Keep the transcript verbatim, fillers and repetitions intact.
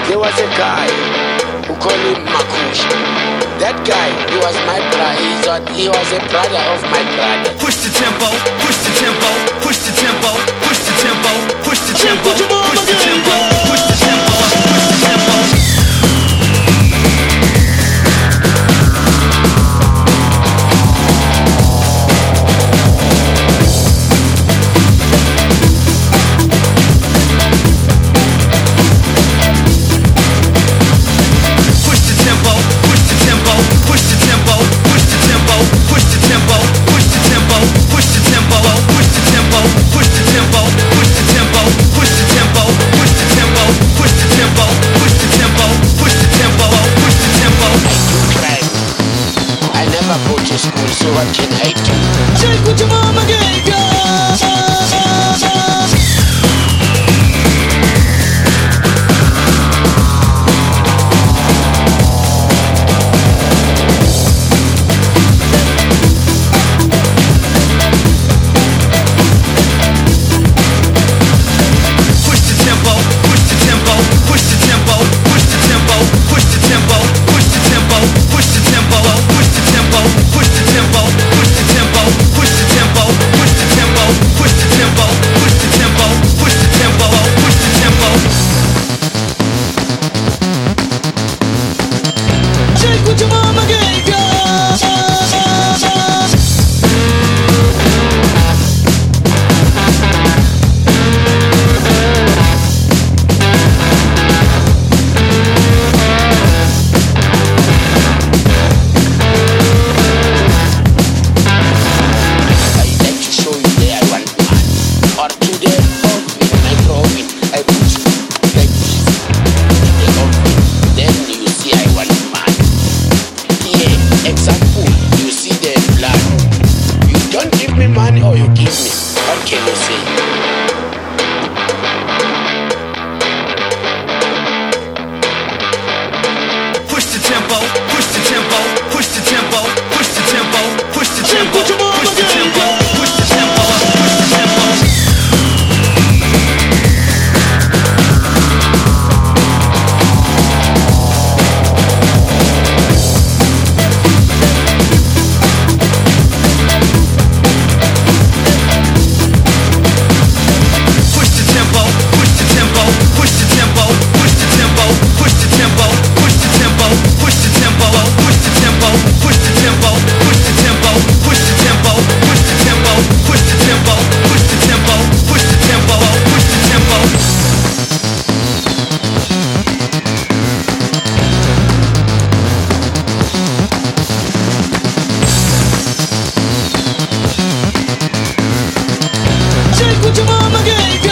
There was a guy who called him Makush. That guy, he was my brother. He was, he was a brother of my brother. Push the tempo, push the tempo, push the tempo, push the tempo, push the tempo, push the tempo, push the tempo, push the tempo, push the tempo. School, so what can I do? Take what your mama gave you. Money or you give me, what can you say? Push the tempo, push the tempo, push the tempo, push the tempo, push the tempo, push the tempo, push the tempo, push the tempo. Take what your mama gave